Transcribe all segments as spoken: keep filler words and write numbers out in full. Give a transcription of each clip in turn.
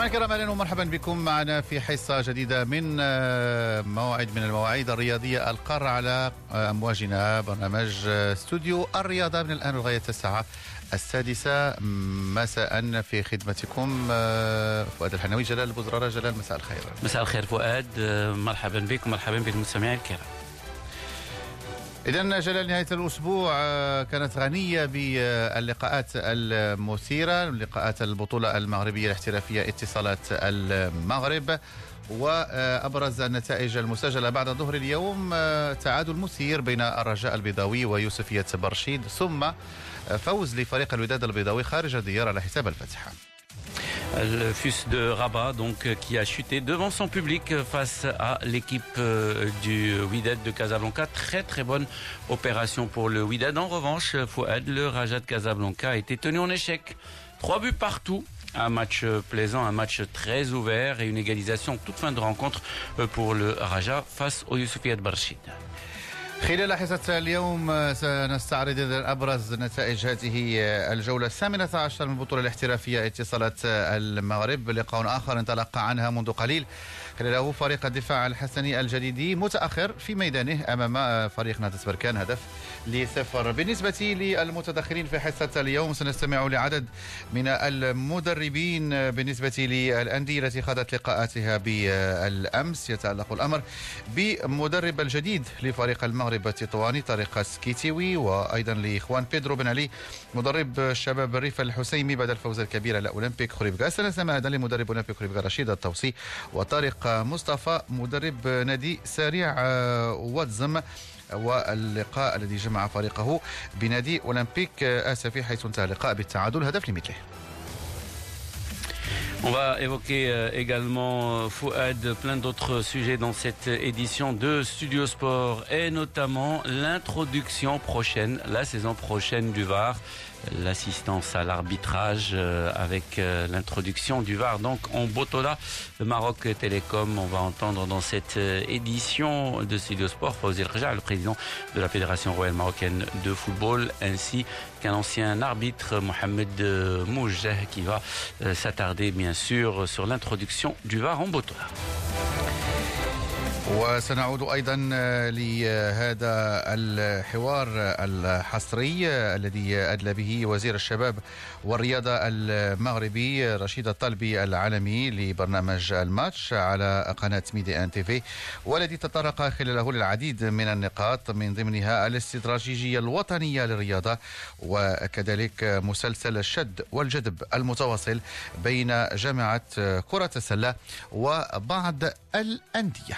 مستمعينا الكرام، اهلا ومرحبا بكم معنا في حصه جديده من موعد من المواعيد الرياضيه القارة على امواجنا، برنامج استوديو الرياضه من الان لغايه الساعه السادسه مساء. في خدمتكم فؤاد الحناوي، جلال البزرارة. جلال، مساء الخير. مساء الخير فؤاد، مرحبا بك ومرحبا بالمستمعين الكرام. إذن جلال، نهاية الأسبوع كانت غنية باللقاءات المثيرة، لقاءات البطولة المغربية الاحترافية اتصالات المغرب، وأبرز النتائج المسجلة بعد ظهر اليوم تعادل مثير بين الرجاء البيضاوي ويوسفية برشيد، ثم فوز لفريق الوداد البيضاوي خارج الديار على حساب الفتح. Le Fus de Rabat, donc, qui a chuté devant son public face à l'équipe du Wydad de Casablanca. Très très bonne opération pour le Wydad. En revanche, Fouad, le Raja de Casablanca, a été tenu en échec. Trois buts partout. Un match plaisant, un match très ouvert et une égalisation toute fin de rencontre pour le Raja face au Youssoufia de Barchid. خلال حصة اليوم سنستعرض أبرز نتائج هذه الجولة الثامنة عشر من البطولة الاحترافية اتصالات المغرب. لقاء آخر انطلق عنها منذ قليل، خلاله فريق الدفاع الحسني الجديدي متأخر في ميدانه أمام فريق نادس بركان هدف لصفر. بالنسبة للمتدخلين في حصة اليوم، سنستمع لعدد من المدربين بالنسبة للأندية التي خاضت لقاءاتها بالأمس. يتعلق الأمر بمدرب الجديد لفريق المغرب التطواني طارق سكيتيوي، وأيضا لإخوان بيدرو بن علي مدرب شباب الريف الحسيمي بعد الفوز الكبير على أولمبيك خريبكا. سنستمع أيضا لمدرب أولمبيك خريبكا رشيد الطوسي، وطارق مصطفى مدرب نادي سريع واتزم، واللقاء الذي جمع فريقه بنادي أولمبيك آسفي حيث انتهى اللقاء بالتعادل هدف لمثله. On va évoquer également, Fouad, plein d'autres sujets dans cette édition de Studio Sport, et notamment l'introduction prochaine, la saison prochaine du V A R, l'assistance à l'arbitrage avec l'introduction du V A R donc en Botola, le Maroc Télécom. On va entendre dans cette édition de Studio Sport Fawzi El Khaja, le président de la Fédération royale marocaine de football, ainsi qu'un ancien arbitre, Mohamed Moujeh, qui va s'attarder bien sûr sur l'introduction du V A R en Botola. وسنعود أيضا لهذا الحوار الحصري الذي أدلى به وزير الشباب والرياضة المغربي رشيد الطلبي العالمي لبرنامج الماتش على قناة ميدي ان تي في، والذي تطرق خلاله للعديد من النقاط من ضمنها الاستراتيجية الوطنية للرياضة، وكذلك مسلسل الشد والجذب المتواصل بين جامعة كرة السلة وبعض الأندية.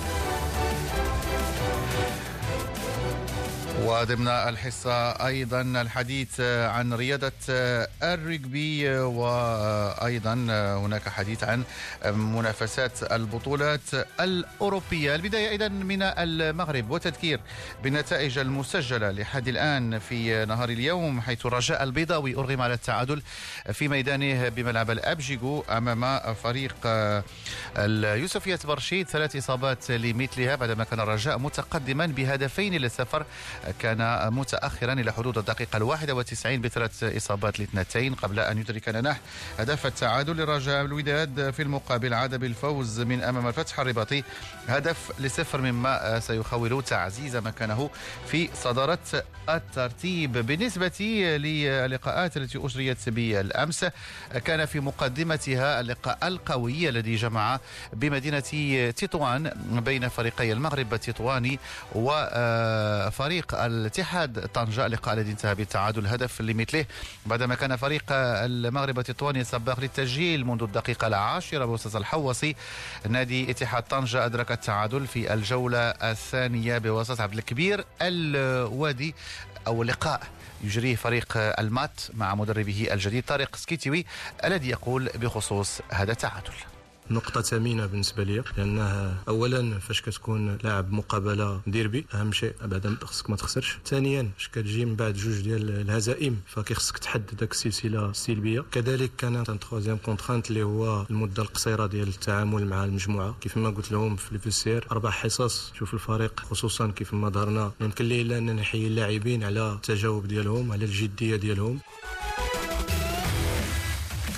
وضمن الحصة أيضا الحديث عن رياضة الرجبي، وأيضا هناك حديث عن منافسات البطولات الأوروبية. البداية أيضا من المغرب وتذكير بالنتائج المسجلة لحد الآن في نهار اليوم، حيث الرجاء البيضاوي أرغم على التعادل في ميدانه بملعب الأبجيغو أمام فريق اليوسفية برشيد، ثلاث إصابات لمثلها بعدما كان الرجاء متقدما بهدفين للصفر، كان متأخرا إلى حدود الدقيقة الواحدة وتسعين بثلاث إصابات لاثنتين قبل أن يدرك نناح هدف التعادل للرجاء. الوداد في المقابل عاد بالفوز من أمام الفتح الرباطي هدف لصفر، مما سيخول تعزيز مكانه في صدارة الترتيب. بالنسبة للقاءات التي أجريت بالأمس، كان في مقدمتها اللقاء القوي الذي جمع بمدينة تطوان بين فريقي المغرب التطواني وفريق الاتحاد طنجة، اللقاء الذي انتهى بالتعادل هدف لمثله بعدما كان فريق المغرب التطواني سباق للتسجيل منذ الدقيقة العاشرة بوسط الحوصي. نادي اتحاد طنجة أدرك التعادل في الجولة الثانية بوسط عبد الكبير الوادي، أو لقاء يجريه فريق المات مع مدربه الجديد طارق سكيتيوي، الذي يقول بخصوص هذا التعادل: نقطة ثمينة بالنسبة لي، لأنه أولا فاش كتكون لاعب مقابلة ديربي أهم شيء بعد خصك ما تخسرش، ثانيا فاش كتجي من بعد جوج ديال الهزائم فكيخصك تحد داك السلسلة السلبية. كذلك كان تروازيام كونترانت اللي هو المدة القصيرة ديال التعامل مع المجموعة، كيف ما قلت لهم في الفيسير أربع حصص. شوف الفريق خصوصا كيف ما ظهرنا يمكن لي إلا أن نحيي اللاعبين على التجاوب ديالهم، على الجدية ديالهم.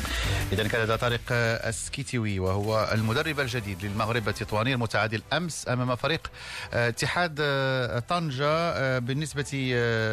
إذا كان هذا طارق السكيتيوي وهو المدرب الجديد للمغرب التطواني المتعادل الأمس أمام فريق اتحاد طنجة. بالنسبة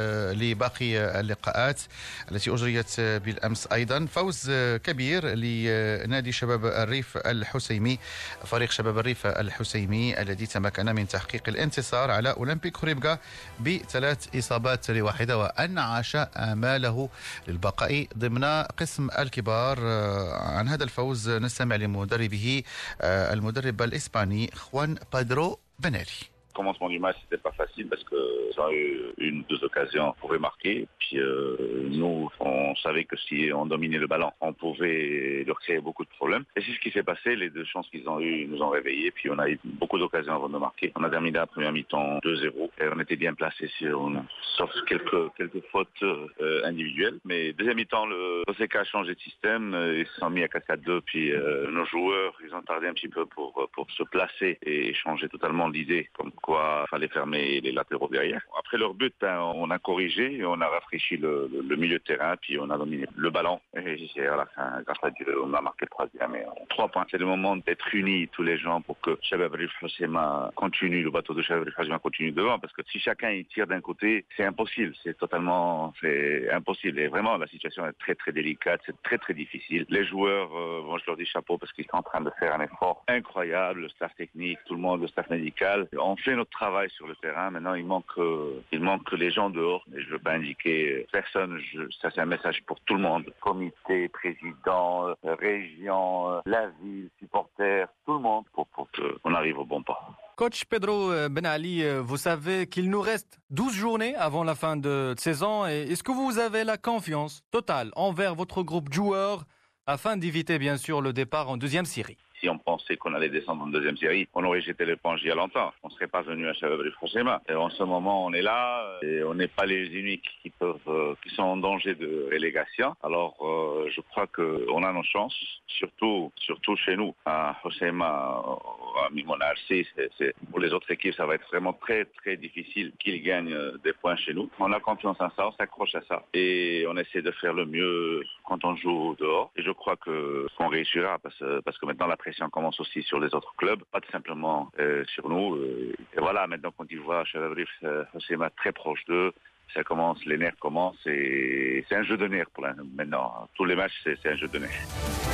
لباقي اللقاءات التي أجريت بالأمس أيضا فوز كبير لنادي شباب الريف الحسيمي، فريق شباب الريف الحسيمي الذي تمكن من تحقيق الانتصار على أولمبيك خريبكا بثلاث إصابات لواحدة وأنعش آماله للبقاء ضمن قسم الكبار. عن هذا الفوز نستمع لمدربه المدرب الإسباني خوان بيدرو بنالي. Le commencement du match, c'était pas facile parce qu'ils ont eu une ou deux occasions pour remarquer. Puis euh, nous, on savait que si on dominait le ballon, on pouvait leur créer beaucoup de problèmes. Et c'est ce qui s'est passé. Les deux chances qu'ils ont eues nous ont réveillés. Puis on a eu beaucoup d'occasions avant de marquer. On a terminé la première mi-temps deux zéro. Et on était bien placés, sur, sauf quelques, quelques fautes euh, individuelles. Mais deuxième mi-temps, le O C K a changé de système. Ils se sont mis à quatre quatre deux. Puis euh, nos joueurs, ils ont tardé un petit peu pour, pour se placer et changer totalement l'idée. Comme quoi il fallait fermer les latéraux derrière. Après leur but, ben, on a corrigé et on a rafraîchi le, le, le milieu de terrain, puis on a dominé le ballon. Et à la fin, grâce à Dieu, on a marqué le troisième. Et trois points. C'est le moment d'être unis, tous les gens, pour que Shabab Rif Hoceima continue, le bateau de Shabab Rif Hoceima continue devant. Parce que si chacun il tire d'un côté, c'est impossible. C'est totalement c'est impossible. Et vraiment, la situation est très très délicate. C'est très très difficile. Les joueurs, euh, bon, je leur dis chapeau parce qu'ils sont en train de faire un effort incroyable. Le staff technique, tout le monde, le staff médical. On fait notre travail sur le terrain. Maintenant, il manque, euh, il manque les gens dehors. Et je ne veux pas indiquer personne. Je, ça, c'est un message pour tout le monde. Comité, président, euh, région, euh, la ville, supporters, tout le monde pour, pour qu'on arrive au bon pas. Coach Pedro Benali, vous savez qu'il nous reste douze journées avant la fin de saison. Et est-ce que vous avez la confiance totale envers votre groupe de joueurs afin d'éviter bien sûr le départ en deuxième série? Si on pensait qu'on allait descendre en deuxième série, on aurait jeté l'éponge il y a longtemps. On ne serait pas venu à Shabab Rif Hoceima. Et en ce moment, on est là et on n'est pas les uniques qui peuvent, euh, qui sont en danger de relégation. Alors, euh, je crois qu'on a nos chances, surtout, surtout chez nous. À Hoceima, à Mimona R C, c'est, c'est, pour les autres équipes, ça va être vraiment très, très difficile qu'ils gagnent des points chez nous. On a confiance en ça, on s'accroche à ça. Et on essaie de faire le mieux quand on joue dehors. Et je crois que qu'on réussira parce, parce que maintenant, la pression commence aussi sur les autres clubs, pas tout simplement euh, sur nous. Euh, et voilà, maintenant quand ils voient Shabab Rif Hoceima très proche d'eux, ça commence, les nerfs commencent et c'est un jeu de nerfs pour la, maintenant. Tous les matchs, c'est, c'est un jeu de nerfs.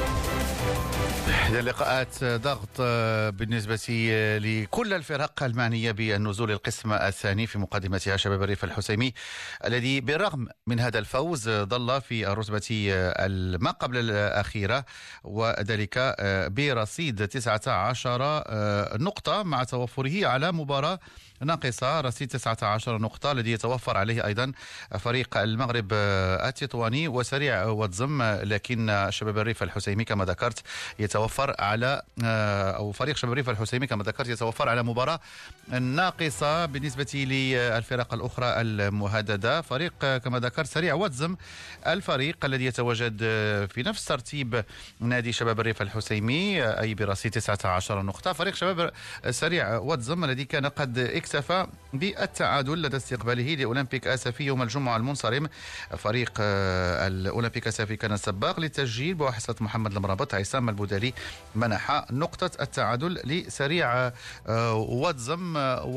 لقاءات ضغط بالنسبة لكل الفرق المعنية بالنزول القسم الثاني في مقدمتها شباب الريف الحسيمي الذي بالرغم من هذا الفوز ظل في الرتبة ما قبل الأخيرة وذلك برصيد تسعة عشر نقطة مع توفره على مباراة ناقصة، رصيد تسعة عشر نقطة الذي يتوفر عليه أيضا فريق المغرب التطواني وسريع وتزم، لكن شباب الريف الحسيمي كما ذكرت يتوفر على أو فريق شباب الريف الحسيمي كما ذكرت يتوفر على مباراة ناقصة. بالنسبة للفرق الأخرى المهددة فريق كما ذكرت سريع وتزم، الفريق الذي يتواجد في نفس ترتيب نادي شباب الريف الحسيمي أي برصيد تسعة عشر نقطة. فريق شباب سريع وتزم الذي كان قد اكتفى بالتعادل لدى استقباله لأولمبيك آسفي يوم الجمعة المنصرم. فريق الأولمبيك آسفي كان سباق للتسجيل بواسطة محمد المرابط. عصام البودالي منح نقطة التعادل لسريع وتزم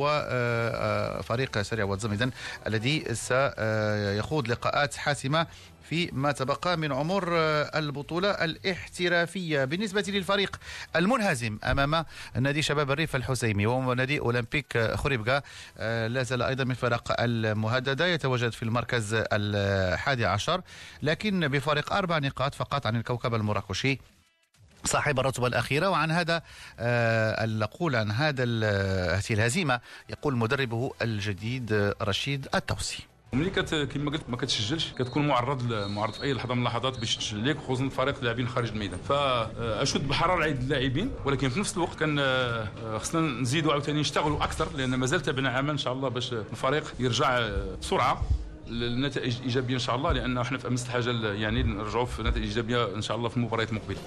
وفريق سريع وتزم إذن الذي سيخوض لقاءات حاسمة في ما تبقى من عمر البطولة الاحترافية. بالنسبة للفريق المنهزم أمام نادي شباب الريف الحسيمي وهو نادي أولمبيك خريبكا لا زال أيضا من الفرق المهددة، يتواجد في المركز الحادي عشر لكن بفارق أربع نقاط فقط عن الكوكب المراكشي صاحب الرتبة الأخيرة. وعن هذا نقول عن هذا هذه الهزيمة يقول مدربه الجديد رشيد التوسي. ملي كت كما قلت ما كتسجلش كتكون معرض معرض في اي لحظه من اللحظات باش تسجل لك، خصوصا فريق لاعبين خارج الميدان، فاشد بحراره عيد اللاعبين، ولكن في نفس الوقت كان خصنا نزيدوا عاوتاني نشتغلوا اكثر لان مازال تابعنا عمل ان شاء الله باش الفريق يرجع بسرعه للنتائج ايجابيه ان شاء الله، لان احنا في امس الحاجه يعني نرجعوا في نتائج ايجابيه ان شاء الله في المباريات المقبله.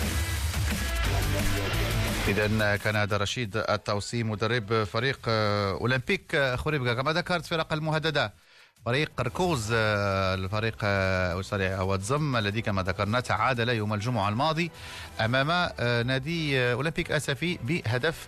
إذا كان هذا رشيد التوسي مدرب فريق أولمبيك خريبكا. كما ذكرت فرق المهددة فريق قرقوز الفريق سريع واتزم الذي كما ذكرنا تعادل يوم الجمعة الماضي أمام نادي أولمبيك أسفي بهدف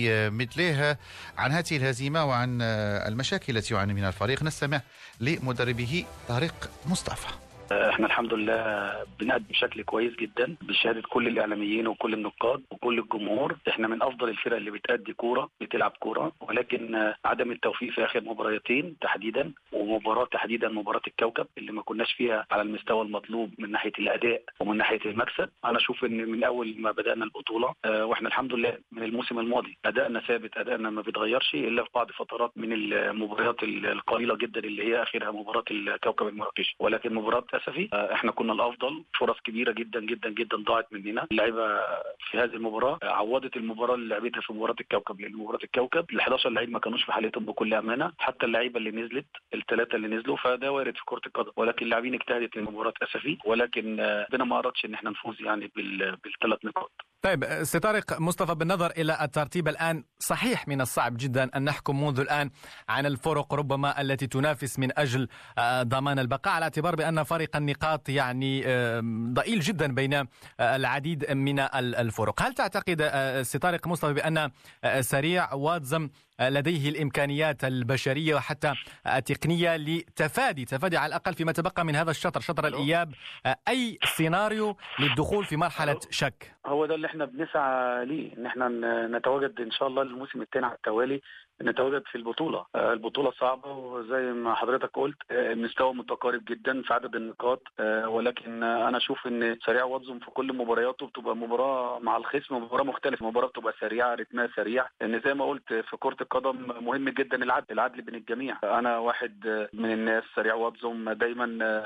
لمثله. عن هذه الهزيمة وعن المشاكل التي يعاني منها الفريق نستمع لمدربه طارق مصطفى. احنا الحمد لله بنقدم بشكل كويس جدا بشهاده كل الاعلاميين وكل النقاد وكل الجمهور. احنا من افضل الفرق اللي بتأدي كوره بتلعب كوره، ولكن عدم التوفيق في اخر مباراتين تحديدا، ومباراه تحديدا مباراه الكوكب اللي ما كناش فيها على المستوى المطلوب من ناحيه الاداء ومن ناحيه المكسب. انا اشوف ان من اول ما بدانا البطوله اه واحنا الحمد لله من الموسم الماضي ادائنا ثابت، ادائنا ما بيتغيرش الا في بعض فترات من المباريات القليله جدا اللي هي اخرها مباراه الكوكب المراكشي، ولكن مباراه اسفي احنا كنا الافضل. فرص كبيره جدا جدا جدا ضاعت مننا. اللعيبه في هذه المباراه عوضت المباراه اللي لعبتها في مباراه الكوكب، لان مباراه الكوكب ال احد عشر لعيب ما كانوش في حالتهم بكل امانه، حتى اللعيبه اللي نزلت الثلاثه اللي نزلوا، فده وارد في كره القدم، ولكن اللاعبين اجتهدت لمباراه اسفي، ولكن ربنا ما اردش ان احنا نفوز يعني بالثلاث نقاط. طيب سي طارق مصطفى، بالنظر إلى الترتيب الآن صحيح من الصعب جدا أن نحكم منذ الآن عن الفرق ربما التي تنافس من أجل ضمان البقاء، على اعتبار بأن فرق النقاط يعني ضئيل جدا بين العديد من الفرق. هل تعتقد سي طارق مصطفى بأن سريع واتزم لديه الإمكانيات البشرية وحتى التقنية لتفادي تفادي على الأقل فيما تبقى من هذا الشطر شطر الإياب أي سيناريو للدخول في مرحلة شك؟ هو ده اللي احنا بنسعى ليه، ان احنا نتواجد ان شاء الله الموسم الثاني على التوالي نتواجد في البطولة. البطولة صعبة وزي ما حضرتك قلت المستوى متقارب جدا في عدد النقاط، ولكن أنا أشوف إن سريع واتزم في كل مبارياته بتبقى مباراة مع الخصم مباراة مختلفة، مباراة بتبقى سريعة رتمها سريع، لأن زي ما قلت في كرة القدم مهم جدا العدل العدل بين الجميع. أنا واحد من الناس سريع واتزم دايما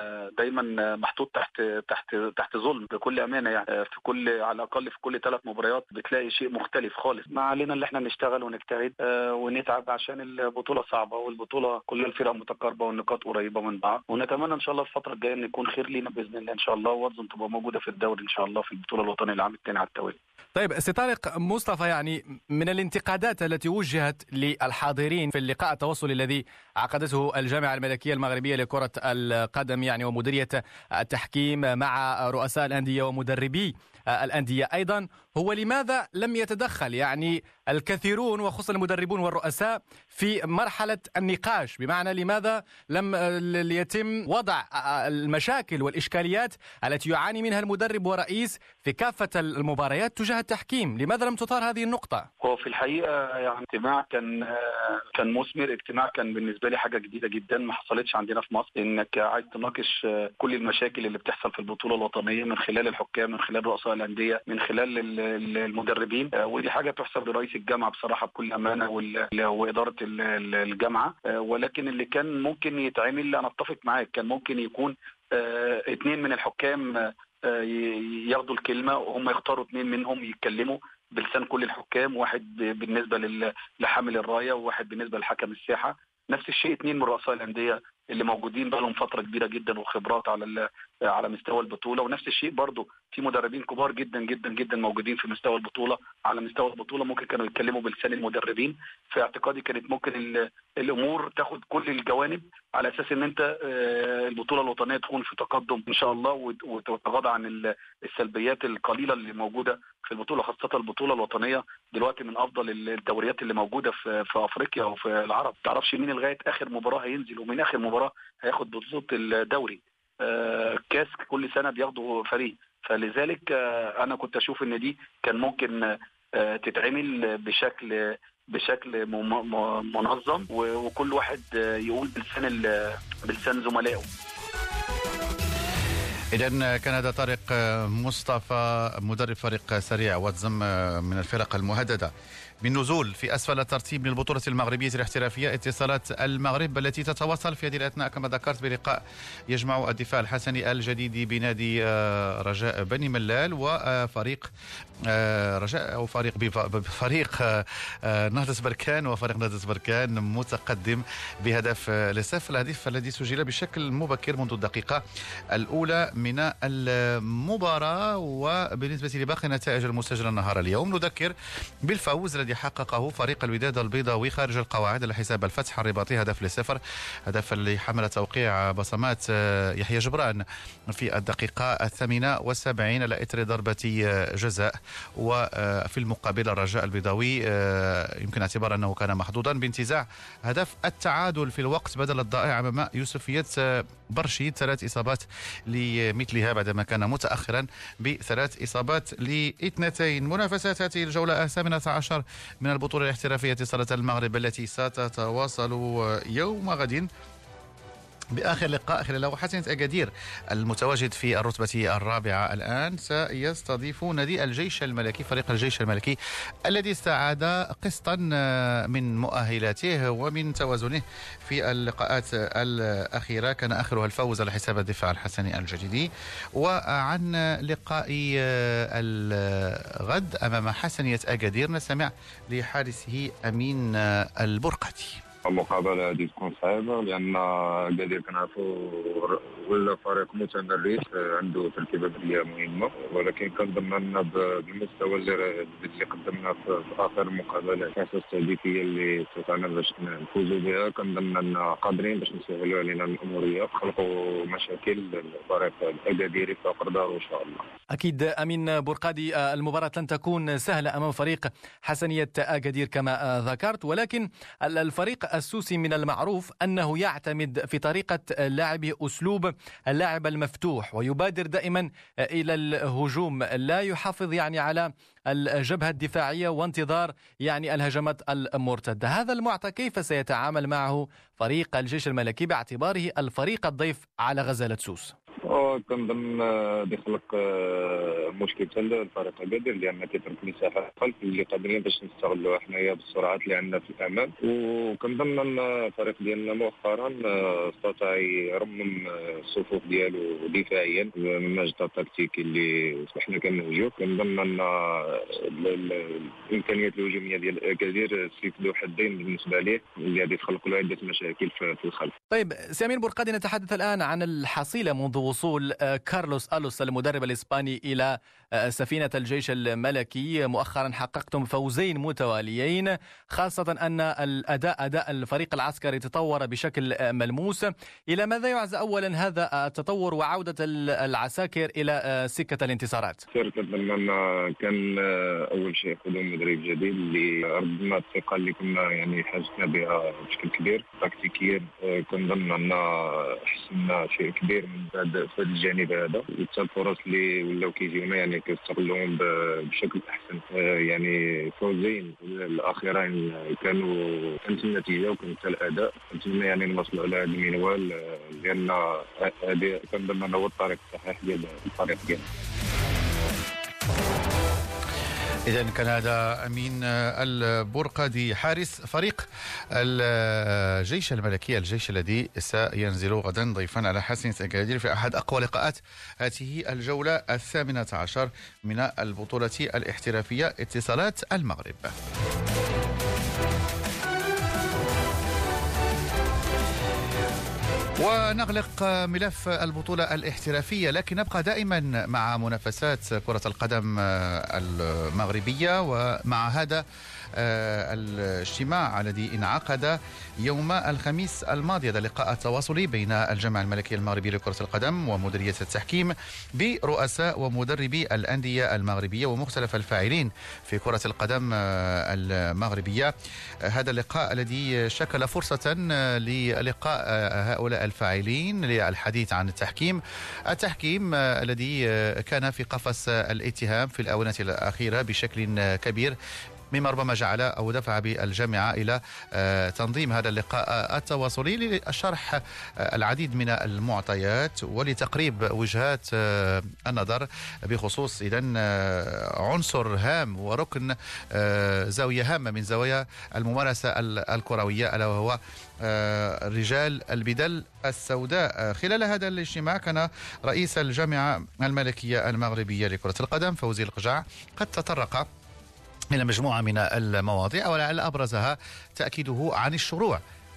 دايما محطوط تحت تحت تحت ظلم بكل أمانة، يعني في كل على الأقل في كل ثلاث مباريات بتلاقي شيء مختلف خالص. ما علينا اللي احنا نشتغل ونجتهد ونت تعب عشان البطولة صعبة، والبطولة كل الفرق متقاربة والنقاط قريبة من بعض، ونتمنى ان شاء الله الفترة الجاية ان يكون خير لينا باذن الله ان شاء الله، واتزم تبقى موجودة في الدوري ان شاء الله في البطولة الوطنية العام الثاني على التوالي. طيب سي طارق مصطفى، يعني من الانتقادات التي وجهت للحاضرين في اللقاء التواصلي الذي عقدته الجامعة الملكية المغربية لكرة القدم يعني ومديرية التحكيم مع رؤساء الأندية ومدربي الأندية أيضا، هو لماذا لم يتدخل يعني الكثيرون وخصوصا المدربون والرؤساء في مرحلة النقاش، بمعنى لماذا لم يتم وضع المشاكل والإشكاليات التي يعاني منها المدرب ورئيس في كافة المباريات تجاه التحكيم؟ لماذا لم تثار هذه النقطة؟ هو في الحقيقة يعني اجتماع كان كان مثمر، اجتماع كان بالنسبة لي حاجة جديدة جدا ما حصلتش عندنا في مصر، انك عايز تناقش كل المشاكل اللي بتحصل في البطولة الوطنية من خلال الحكام، من خلال رؤساء الأندية، من خلال المدربين، ودي حاجة تحسب لرئيس الجامعة بصراحة بكل أمانة وإدارة الجامعة. ولكن اللي كان ممكن يتعمل أنا أتفق معاك، كان ممكن يكون اثنين من الحكام ياخدوا الكلمة وهم يختاروا اثنين منهم يتكلموا بلسان كل الحكام، واحد بالنسبة لحامل الراية وواحد بالنسبة لحكم الساحة. نفس الشيء اثنين من رؤساء الأندية اللي موجودين بقالهم فترة كبيرة جدا وخبرات على على مستوى البطولة، ونفس الشيء برضو في مدربين كبار جدا جدا جدا موجودين في مستوى البطولة على مستوى البطولة، ممكن كانوا يتكلموا بلسان المدربين. في اعتقادي كانت ممكن الأمور تاخد كل الجوانب على أساس ان انت البطولة الوطنية تكون في تقدم ان شاء الله، وتتغاضى عن السلبيات القليلة اللي موجودة في البطولة، خاصة البطولة الوطنية دلوقتي من افضل الدوريات اللي موجودة في في افريقيا وفي العرب. ما تعرفش مين لغاية اخر مباراة هينزل ومين اخر مباراة هياخد بطولة الدوري. كاس كل سنة بياخدوا فريق، فلذلك انا كنت اشوف ان دي كان ممكن تتعمل بشكل بشكل منظم، وكل واحد يقول بلسان بلسان زملائه. إذن كان هذا طارق مصطفى مدرب فريق سريع واتزم من الفرق المهددة بالنزول في أسفل الترتيب للبطولة المغربية الاحترافية. اتصالات المغرب التي تتواصل في هذه الأثناء كما ذكرت بلقاء يجمع الدفاع الحسني الجديد بنادي رجاء بني ملال وفريق رجاء أو فريق بفريق نهضة بركان، وفريق نهضة بركان متقدم بهدف لصفر، الهدف الذي سجل بشكل مبكر منذ الدقيقة الأولى من المباراة. وبالنسبة لباقي النتائج المسجلة نهار اليوم نذكر بالفوز الذي الذي حققه فريق الوداد البيضاوي خارج القواعد على حساب الفتح الرباطي هدف لصفر، هدف اللي حمل توقيع بصمات يحيى جبران في الدقيقة الثامنة والسبعين على إثر ضربة جزاء. وفي المقابل الرجاء البيضاوي يمكن اعتبار أنه كان محظوظا بانتزاع هدف التعادل في الوقت بدل الضائع أمام يوسفية برشيد، ثلاث إصابات لمثلها بعدما كان متأخرا بثلاث إصابات لاثنتين. منافسات هذه الجولة الثامنة عشر من البطولة الاحترافية اتصالات المغرب التي ستتواصل يوم غد بآخر لقاء خلال حسنة أكادير المتواجد في الرتبة الرابعة الآن سيستضيف نادي الجيش الملكي، فريق الجيش الملكي الذي استعاد قسطا من مؤهلاته ومن توازنه في اللقاءات الأخيرة، كان آخرها الفوز على حساب الدفاع الحسني الجديدي. وعن لقاء الغد أمام حسنية أكادير نستمع لحارسه أمين البرقدي. المقابلة هذه تكون صعيبة لأن أكادير كنعرفوا ولا فريق متمرس عنده تركيبة بدنية مهمة، ولكن كنظن أن بالمستوى اللي اللي قدمنا في آخر المقابلة الأساس التهديفية اللي استطعنا باش نفوزوا بها، كنظن أن قادرين باش نسهلوا علينا الأمورية، خلقوا مشاكل الفريق الأكاديري في أقداره إن شاء الله. أكيد أمين برقادي، المباراة لن تكون سهلة أمام فريق حسنية أكادير كما ذكرت، ولكن الفريق السوسي من المعروف أنه يعتمد في طريقة لاعبه أسلوب اللاعب المفتوح ويبادر دائما إلى الهجوم، لا يحافظ يعني على الجبهة الدفاعية وانتظار يعني الهجمات المرتدة. هذا المعطى كيف سيتعامل معه فريق الجيش الملكي باعتباره الفريق الضيف على غزالة سوس؟ كنظن بيخلق مشكل حتى الفريق أكادير لأن كيترك مساحة خلف اللي قادرين باش نستغلوها حنايا بالسرعات اللي عندنا في الأمام. وكنظن أن الفريق ديالنا مؤخرا استطاع يرمم الصفوف ديالو دفاعيا من المجد التكتيكي اللي حنا كنهجو. كنظن أن الإمكانيات الهجومية ديال أكادير سيف ذو حدين بالنسبة ليه اللي غادي تخلق له عدة مشاكل في الخلف. طيب سامين برقادي، نتحدث الآن عن الحصيلة منذ وصول كارلوس ألوس المدرب الإسباني إلى سفينة الجيش الملكي. مؤخرا حققتم فوزين متواليين، خاصة أن الأداء أداء الفريق العسكري تطور بشكل ملموس. إلى ماذا يعزى أولا هذا التطور وعودة العساكر إلى سكة الانتصارات؟ كنظن كان أول شيء قدوم مدرب جديد اللي ردنا الثقة اللي كنا يعني حاجتنا بها بشكل كبير تكتيكيا. كنظن أن حسنا شيء كبير من بعد في الجانب هذا، وحتى الفرص اللي ولاو كيجيونا يعني كنستغلوهم بشكل احسن. يعني فوزين الاخيرين كانوا كانت النتيجه وكانت الاداء، نتمنى يعني نوصلوا على هذا المنوال لان هذا كنظن هو الطريق الصحيح ديال الفريق ديالنا. إذن كان هذا أمين البرقدي حارس فريق الجيش الملكي، الجيش الذي سينزل غدا ضيفا على حسنية أكادير في أحد أقوى لقاءات هذه الجولة الثامنة عشر من البطولة الاحترافية اتصالات المغرب. ونغلق ملف البطولة الاحترافية، لكن نبقى دائما مع منافسات كرة القدم المغربية، ومع هذا الاجتماع الذي انعقد يوم الخميس الماضي، هذا اللقاء التواصلي بين الجامعة الملكية المغربية لكرة القدم ومديرية التحكيم برؤساء ومدربي الأندية المغربية ومختلف الفاعلين في كرة القدم المغربية. هذا اللقاء الذي شكل فرصة للقاء هؤلاء الفاعلين للحديث عن التحكيم التحكيم الذي كان في قفص الاتهام في الآونة الأخيرة بشكل كبير، مما ربما جعل أو دفع بالجامعة إلى تنظيم هذا اللقاء التواصلي لشرح العديد من المعطيات ولتقريب وجهات النظر بخصوص إذن عنصر هام وركن زاوية هامة من زوايا الممارسة الكروية، ألا وهو رجال البدل السوداء. خلال هذا الاجتماع كان رئيس الجامعة الملكية المغربية لكرة القدم فوزي القجع قد تطرق إلى مجموعة من المواضيع، ولعل أبرزها تأكيده عن الشروع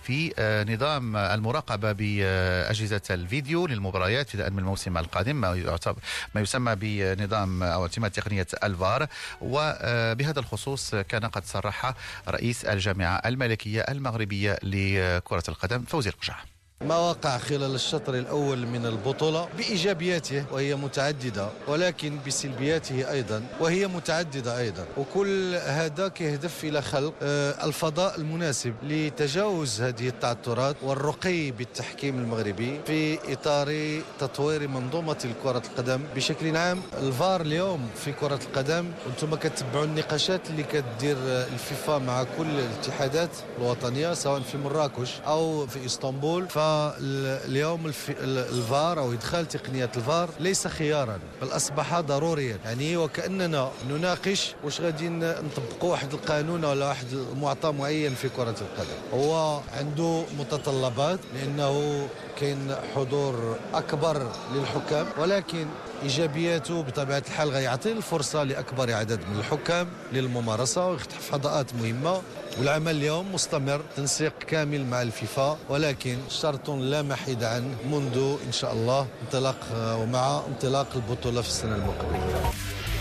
في نظام المراقبة بأجهزة الفيديو للمباريات ابتداء من الموسم القادم، ما يسمى بنظام أو اعتماد تقنية الفار. وبهذا الخصوص كان قد صرح رئيس الجامعة الملكية المغربية لكرة القدم فوزي القجع. ما وقع خلال الشطر الأول من البطولة بإيجابياته وهي متعددة، ولكن بسلبياته أيضا وهي متعددة أيضا، وكل هذا يهدف إلى خلق الفضاء المناسب لتجاوز هذه التعثرات والرقي بالتحكيم المغربي في إطار تطوير منظومة كرة القدم بشكل عام. الفار اليوم في كرة القدم، وانتم كتبعوا النقاشات اللي كتدير الفيفا مع كل الاتحادات الوطنية سواء في مراكش أو في إسطنبول، ف اليوم الفار أو إدخال تقنية الفار ليس خيارا بل أصبح ضروريا، يعني وكأننا نناقش واش غادي نطبقوا واحد القانون ولا واحد معطى معين في كرة القدم. هو عنده متطلبات لأنه كاين حضور أكبر للحكام، ولكن إيجابياته بطبيعة الحال غيعطي الفرصة لأكبر عدد من الحكام للممارسة ويفتح فضاءات مهمة. والعمل اليوم مستمر، تنسيق كامل مع الفيفا، ولكن شرط لا محيد عنه منذ إن شاء الله انطلاق ومع انطلاق البطولة في السنة المقبلة.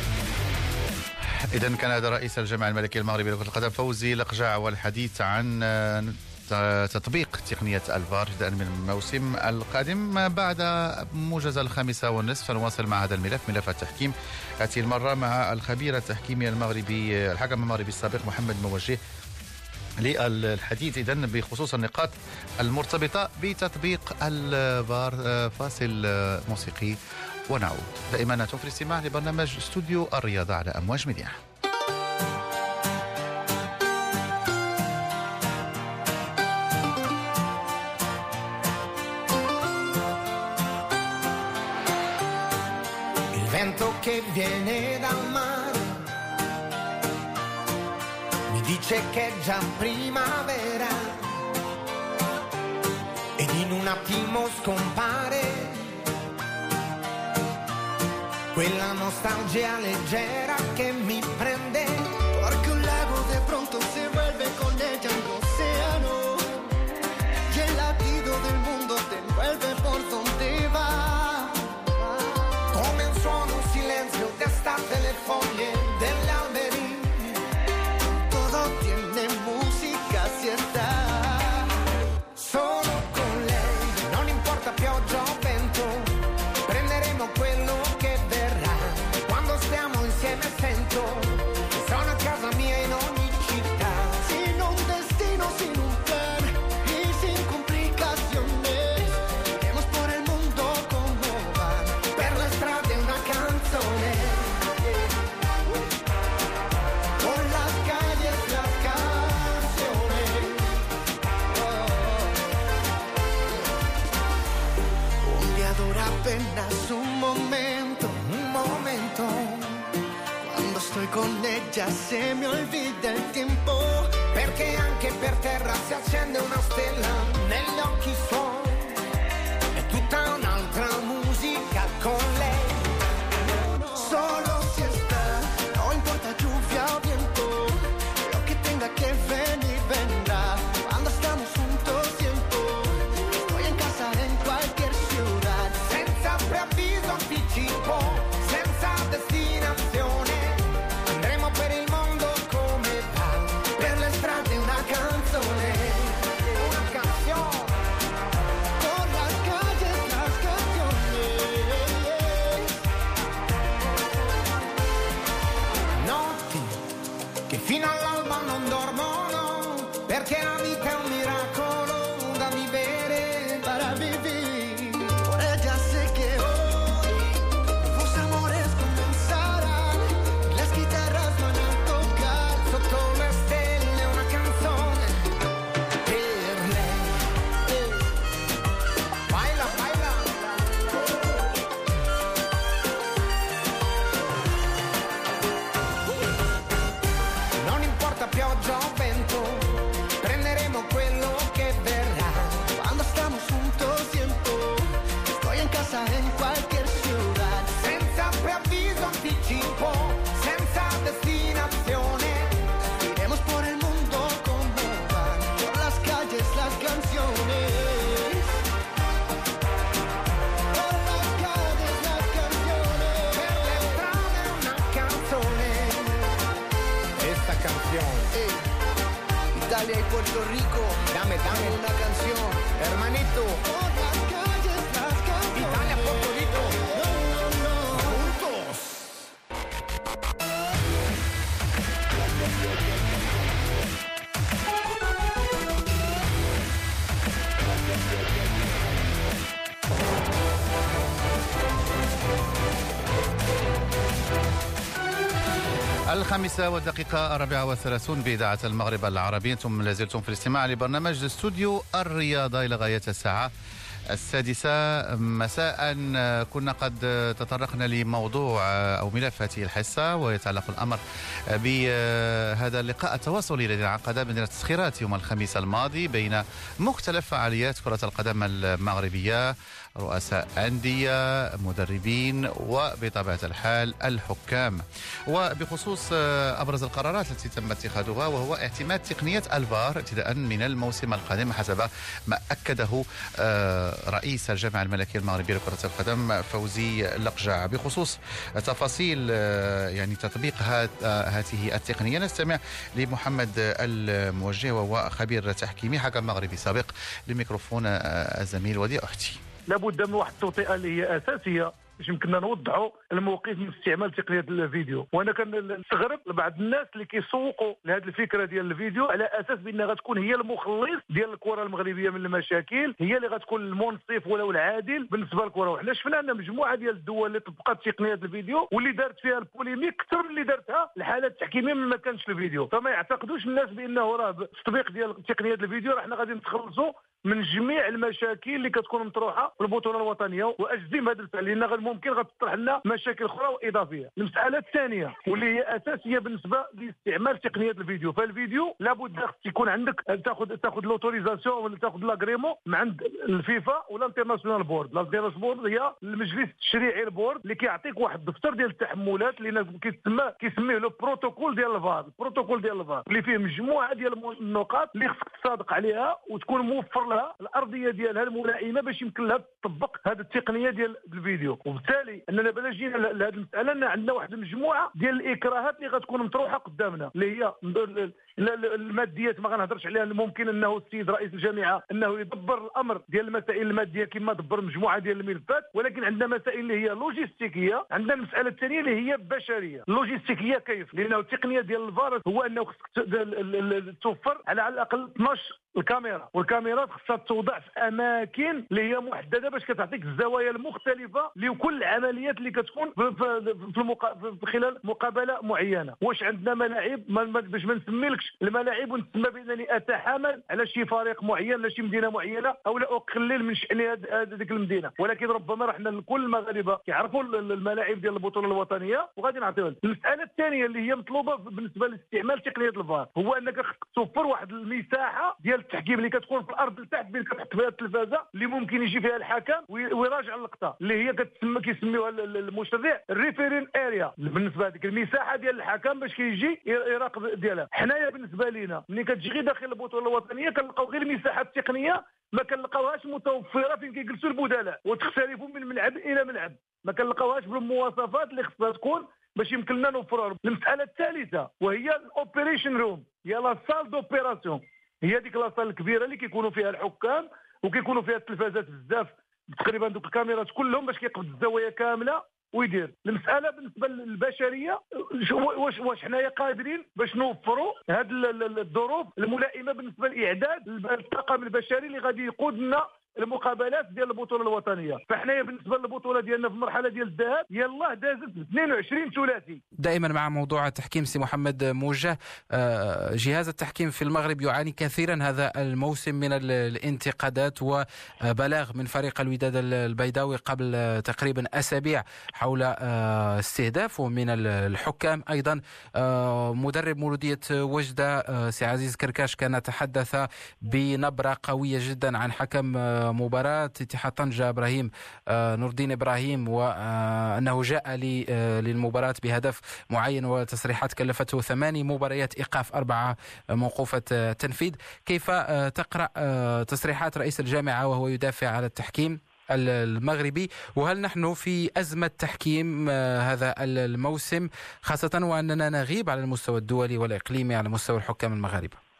إذن كان هذا رئيس الجامعة الملكية المغربية لكرة القدم فوزي القجع، والحديث عن تطبيق تقنية الفار ابتداء من الموسم القادم. بعد موجز الخامسة والنصف نواصل مع هذا الملف، ملف التحكيم، هذه المرة مع الخبير التحكيمي المغربي الحكم المغربي السابق محمد موجه للحديث إذن بخصوص النقاط المرتبطة بتطبيق الفار. فاصل موسيقي ونعود. دائما أنتم في الاستماع لبرنامج استوديو الرياضة على أمواج ميديا. Il vento che viene dal mare mi dice che è già primavera ed in un attimo scompare quella nostalgia leggera che mi prende, porque un lago de pronto se vuelve con ella un océano y el latido del mundo te envuelve por donde va, come un suono, un silenzio d'estate le foglie degli alberi, todo tiene música si está solo con lei, non importa pioggia o vento, prenderemo quello che verrà, quando stiamo insieme sento che sono a casa mia in ogni città, sin un destino, sin un plan y sin complicaciones, iremos por el mundo como van, per la strada una canzone, por las calles las canciones, oh. Un día dura apenas un momento, un momento, quando estoy con ella se mi olvida il tempo, perché anche per terra si accende una stella negli occhi suoi, è tutta un'altra musica con lei, solo si está, no importa lluvia o viento, lo que tenga que venir vendrá, cuando estamos juntos siento, estoy en casa en cualquier ciudad, senza preavviso anticipo, senza destinazione, andremo per il mondo come va, per le Italia y Puerto Rico. Dame, dame una canción, hermanito. Italia, Puerto Rico. Juntos. الخامسة والدقيقة الرابعة والثلاثون بإذاعة المغرب العربي. أنتم لازلتم في الاستماع لبرنامج استوديو الرياضة إلى غاية الساعة السادسة مساء. كنا قد تطرقنا لموضوع أو ملف هذه الحصة، ويتعلق الأمر بهذا اللقاء التواصلي الذي انعقد مدينة تسخيرات يوم الخميس الماضي بين مختلف فعاليات كرة القدم المغربية، رؤساء أندية، مدربين، وبطبيعة الحال الحكام، وبخصوص أبرز القرارات التي تم اتخاذها وهو اعتماد تقنية الفار ابتداء من الموسم القادم حسب ما أكده رئيس الجامعة الملكية المغربية لكرة القدم فوزي لقجع. بخصوص تفاصيل يعني تطبيق هذه التقنية نستمع لمحمد الموجه وهو خبير تحكيمي حكم مغربي سابق لميكروفون الزميل وديع أحتي. لابد من واحد التوطئه اللي هي اساسيه باش يمكننا نوضحوا الموقف من استعمال تقنيه الفيديو. وانا كنستغرب لبعض الناس اللي كيسوقوا لهذه الفكره ديال الفيديو على اساس بانها غتكون هي المخلص ديال الكره المغربيه من المشاكل، هي اللي غتكون المنصف ولا العادل بالنسبه للكره. وحنا شفنا ان مجموعه ديال الدول اللي طبقت تقنيه الفيديو واللي دارت فيها البوليميك اكثر من اللي دارتها الحالات التحكيميه من ما كانش الفيديو. فما يعتقدوش الناس بانه راه بالتطبيق ديال تقنيه الفيديو راه حنا غادي نتخلصوا من جميع المشاكل اللي كتكون مطروحه في البطوله الوطنيه، واجزم هذا الفعل لان غير ممكن غتطرح لنا مشاكل اخرى واضافيه. المساله الثانيه واللي هي اساسيه بالنسبه لاستعمال تقنيه الفيديو، فالفيديو لابد خص يكون عندك تاخذ تاخذ لوتوريزاسيون ولا تاخذ لاغريمون من عند الفيفا ولا الانترناسيونال بورد. الانترناسيونال بورد هي المجلس التشريعي البورد اللي كيعطيك واحد الدفتر ديال التحملات اللي كيسمى كيسميه لو بروتوكول ديال الفار، البروتوكول ديال الفار اللي فيه مجموعه ديال النقاط اللي خصك تصادق عليها وتكون موفر لها الارضيه ديالها الملائمه باش يمكن لها تطبق هذه التقنيه ديال الفيديو. وبالتالي اننا بلا جينا لهذه المساله ان عندنا واحد المجموعه ديال الاكراهات اللي غتكون مطروحه قدامنا اللي هي الماديات ما غنهضرش عليها. ممكن انه السيد رئيس الجامعه انه يدبر الامر ديال المسائل الماديه كما دبر مجموعه ديال الملفات، ولكن عندنا مسائل اللي هي لوجيستيكيه. عندنا المساله الثانيه اللي هي بشريه. اللوجيستيكيه كيف؟ لانه التقنيه ديال الفار هو انه خصك توفر على الاقل اثناش الكاميرا، والكاميرات خصها توضع في اماكن اللي هي محدده باش كتعطيك الزوايا المختلفه لكل العمليات اللي كتكون في المقا... في خلال مقابله معينه. واش عندنا ملاعب باش ما نسميلكش الملاعب ونسمى بانني اتحامل على شي فريق معين ولا شي مدينه معينه او لا اقلل من شان هذيك المدينه، ولكن ربما رحنا كل المغاربه كيعرفوا الملاعب ديال البطوله الوطنيه وغادي نعطيوها. المساله الثانيه اللي هي مطلوبه بالنسبه لاستعمال تقنيه الفار هو انك خصك توفر واحد المساحه ديال التحكيم اللي كتكون في الارض لتحت بين كتحط فيها التلفازه اللي ممكن يجي فيها الحكم ويراجع اللقطه اللي هي كتسمى كيسميوها المشرع الريفيرين اريا بالنسبه لهذيك المساحه ديال الحكم باش كيجي يراقب ديالها. حنايا بالنسبه لينا ملي كتجي غير داخل البطوله الوطنيه كنلقاو غير المساحات التقنيه ما كنلقاوهاش متوفره فين كيجلسوا البدلاء وتختلفوا من ملعب الى ملعب، ما كنلقاوهاش بالمواصفات اللي خصها تكون باش يمكن لنا نوفروها. المساله الثالثه وهي الاوبريشن روم، هي لا سال دوبيراسيون، هي ديك لاصال الكبيره اللي كيكونوا فيها الحكام وكيكونوا فيها التلفازات بزاف تقريبا دوك الكاميرات كلهم باش كيقبض الزوايا كامله ويدير. المساله بالنسبه للبشريه واش واش حنايا قادرين باش نوفروا هذه الظروف الملائمه بالنسبه لاعداد الطاقم البشري اللي غادي يقود لنا المقابلات ديال البطوله الوطنيه. فحنايا بالنسبه للبطوله ديالنا في المرحله ديال الذهاب يلاه دازت اثنين وعشرين ثلاثي. دائما مع موضوع التحكيم سي محمد موجه، جهاز التحكيم في المغرب يعاني كثيرا هذا الموسم من الانتقادات وبلاغ من فريق الوداد البيضاوي قبل تقريبا اسابيع حول استهدافه من الحكام. ايضا مدرب مولوديه وجده سي عزيز كركاش كان تحدث بنبره قويه جدا عن حكم مباراة اتحاد طنجة إبراهيم نور الدين إبراهيم وأنه جاء للمباراة بهدف معين وتصريحات كلفته ثماني مباريات إيقاف أربعة موقوفة تنفيذ. كيف تقرأ تصريحات رئيس الجامعة وهو يدافع على التحكيم المغربي، وهل نحن في أزمة تحكيم هذا الموسم خاصة وأننا نغيب على المستوى الدولي والإقليمي على مستوى الحكام المغاربة؟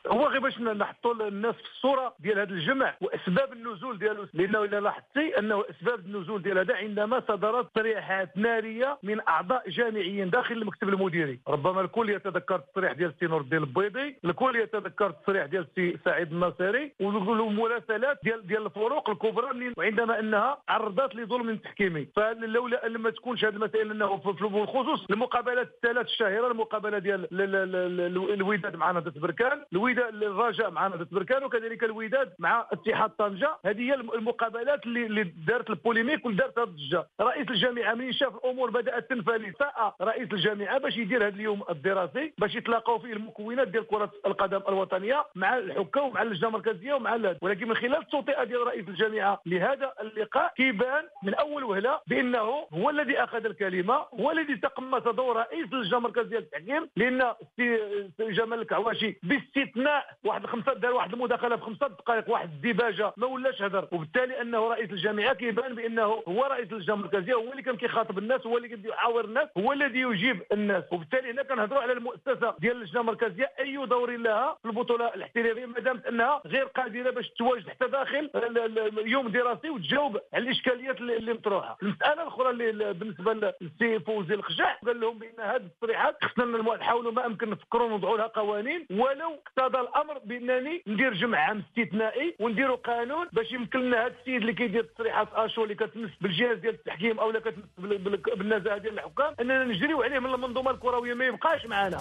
هو غير باش نحطوا الناس في الصوره ديال هذا الجمع واسباب النزول ديالو، لانه الا لاحظتي انه اسباب النزول ديال هذا عندما صدرت تصريحات ناريه من اعضاء جامعيين داخل المكتب المديري. ربما الكل يتذكر التصريح ديال السي نور الدين البيضي، الكل يتذكر التصريح ديال السي سعيد الناصري، والمراسلات ديال ديال الفروق الكبرى وعندما انها عرضت لظلم تحكيمي. فلولا لما تكونش هذه المسائل انه في الخصوص المقابلات الثلاث الشهيره، المقابله ديال الوداد مع نهضه بركان، الوداد الرجاء مع نهضه بركان، وكذلك الوداد مع اتحاد طنجه، هذه هي المقابلات اللي, اللي دارت البوليميك ودارت الضجه. رئيس الجامعه من شاف الامور بدات تنفلت، ساء رئيس الجامعه باش يدير هذا اليوم الدراسي باش يتلاقاو فيه المكونات ديال كره القدم الوطنيه مع الحكام ومع اللجنه المركزيه ومع الهاد. ولكن من خلال التوطئه ديال رئيس الجامعه لهذا اللقاء كيبان من اول وهله بانه هو الذي اخذ الكلمه، هو الذي تقمص دور رئيس اللجنه المركزيه للتحكيم، لان السي جمال الكعواشي باستثناء واحد خمسه دار واحد المداخله في خمسه دقائق، واحد الديباجه ما ولاش هدر، وبالتالي انه رئيس الجامعه كيبان بانه هو رئيس اللجنه المركزيه، هو اللي كان كيخاطب الناس، هو اللي كيبدا يحاور الناس، هو الذي يجيب الناس. وبالتالي هنا كنهضروا على المؤسسه ديال اللجنه المركزيه اي دور لها في البطوله الاحترافيه ما دامت انها غير قادره باش تواجد حتى داخل يوم دراسي وتجاوب على الاشكاليات اللي مطروحه. المساله الاخرى اللي بالنسبه للسي فوزي الخشاع قال لهم بان هذه التصريحات خصنا نحاولوا ما امكن نفكروا ونوضعوا لها قوانين، ولو اقتضى الامر بانني ندير جمع عام استثنائي ونديروا قانون باش يمكن لنا هذا السيد اللي كيدير تصريحات اشو اللي كتمس بالجهاز ديال التحكيم او اللي كتمس بالنزاهه ديال الحكام اننا نجريو عليه من المنظومه الكرويه ما يبقاش معنا.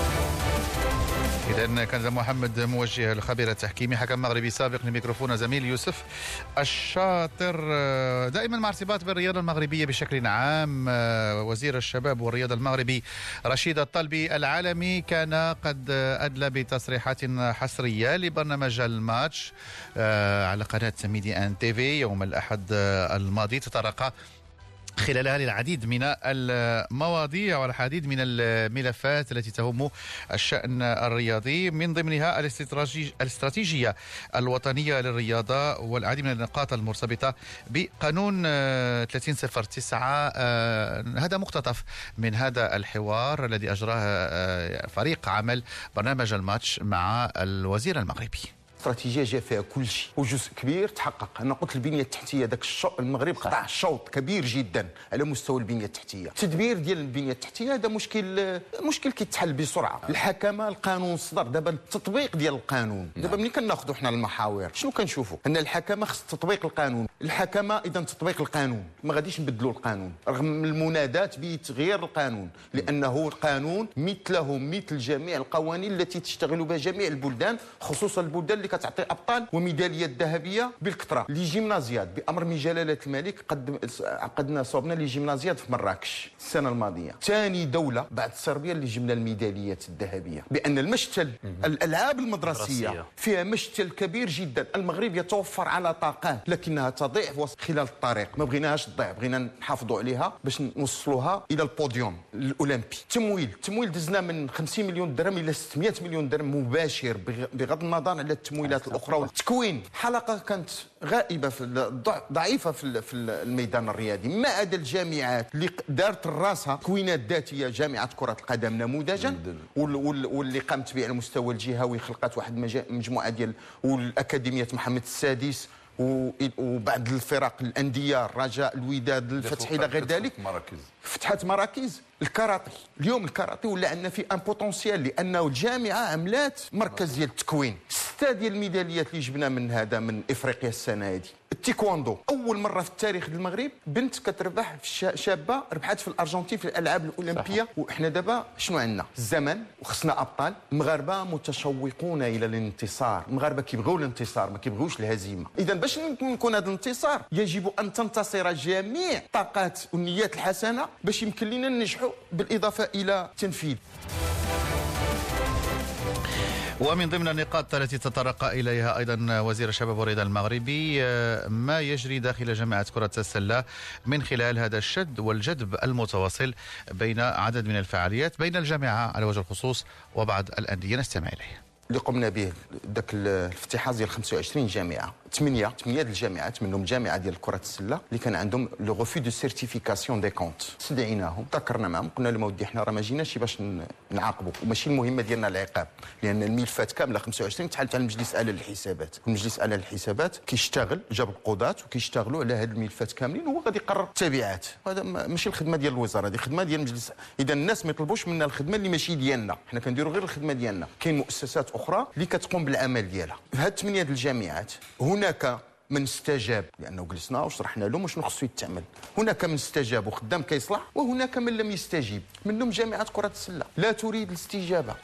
إذا كان محمد موجه الخبير التحكيمي حكم مغربي سابق لميكروفون زميل يوسف الشاطر. دائما مع ارتباط بالرياضة المغربية بشكل عام، وزير الشباب والرياضة المغربي رشيد الطلبي العالمي كان قد أدلى بتصريحات حصرية لبرنامج الماتش على قناة ميدي ان تي في يوم الأحد الماضي، تطرق خلالها للعديد من المواضيع والعديد من الملفات التي تهم الشأن الرياضي، من ضمنها الاستراتيجية الوطنية للرياضة والعديد من النقاط المرتبطة بقانون ثلاثين صفر تسعة. هذا مقتطف من هذا الحوار الذي أجراه فريق عمل برنامج الماتش مع الوزير المغربي. استراتيجيه جا فيها كل شيء وجزء كبير تحقق. انا قلت البنيه التحتيه ذاك المغرب قطع شوط كبير جدا على مستوى البنيه التحتيه. التدبير ديال البنيه التحتيه هذا مشكل مشكل كيتحل بسرعه. الحكمه القانون صدر، دابا التطبيق ديال القانون دابا ملي كناخذوا حنا المحاور شنو كنشوفوا؟ ان الحكمه خص تطبيق القانون. الحكمه اذا تطبيق القانون، ما غاديش نبدلوا القانون رغم المنادات بتغيير القانون، لانه القانون مثله مثل جميع القوانين التي تشتغل بها جميع البلدان، خصوصا البلدان اللي كتعطي ابطال وميداليات ذهبيه بالكثره. لي جيمنازيات بامر من جلاله الملك قد عقدنا صوبنا لي جيمنازيات في مراكش السنه الماضيه، ثاني دوله بعد صربيا اللي جبنا الميداليات الذهبيه، بان المشتل الالعاب المدرسيه فيها مشتل كبير جدا. المغرب يتوفر على طاقات لكنها تضيع خلال الطريق، ما بغيناهاش تضيع، بغينا نحافظوا عليها باش نوصلوها الى البوديوم الاولمبي. تمويل التمويل دزنا من خمسين مليون درهم الى ستمائة مليون درهم مباشر بغض النظر على التمويلات الاخرى. والتكوين حلقه كانت غائبه في ضعيفه في الميدان الرياضي، ما عدا الجامعات اللي دارت راسها تكوينات ذاتيه. جامعه كره القدم نموذجا واللي قامت به على المستوى الجهوي، خلقت واحد مجموعه ديال والاكاديميه محمد السادس وبعض الفرق الانديه الرجاء الوداد الفتح الى غير ذلك فتحت مراكز. الكاراتي اليوم الكاراتي ولا عندنا فيه ان بوتونسيال، لانه الجامعه عملات مركز ديال التكوين. سته ديال الميداليات اللي جبنا من هذا من افريقيا السنه هذه. التيكواندو اول مره في التاريخ المغرب بنت كتربح في شابه ربحت في الارجنتين في الالعاب الاولمبيه. وإحنا دابا شنو عندنا؟ الزمن وخصنا ابطال. المغاربه متشوقون الى الانتصار، المغاربه كيبغيو الانتصار ما كيبغيوش الهزيمه. اذا باش نكون هذا الانتصار يجب ان تنتصر جميع الطاقات والنيات الحسنه باش يمكن لنا ننجحوا بالاضافه الى التنفيذ. ومن ضمن النقاط التي تطرق إليها أيضا وزير الشباب والرياضة المغربي ما يجري داخل جامعة كرة السلة من خلال هذا الشد والجذب المتواصل بين عدد من الفعاليات بين الجامعة على وجه الخصوص وبعض الأندية. نستمع إليه. اللي قمنا به ذاك الافتتاح ديال خمسة وعشرين جامعه ثمانيه ثمانيه ديال الجامعات منهم جامعه ديال كره السله اللي كان عندهم لو غوفي دو سيرتيفيكاسيون دي كونت. استدعيناهم ذكرنا معهم قلنا لهم ودي حنا راه ما جيناش باش نعاقبوا وماشي المهمه ديالنا العقاب لان الملفات كامله خمسة وعشرين تحالت على المجلس الاعلى للحسابات. المجلس الاعلى للحسابات كيشتغل جاب القضاة وكيشتغلوا على هاد الملفات كاملين وهو غادي يقرر التبعات. هذا ماشي الخدمه ديال الوزاره هذه خدمه ديال المجلس. اذا الناس ما يطلبوش منا الخدمه اللي ماشي ديالنا حنا كنديروا غير الخدمه ديالنا. كاين مؤسسات اخرى اللي كتقوم بالعمل ديالها. في هاد ثمانيه ديال الجامعات هناك من استجاب لانه جلسنا وشرحنا لهم شنو خصو يتعمل. هناك من استجاب وخدام كيصلح وهناك من لم يستجيب منهم جامعه كره السله لا تريد الاستجابه.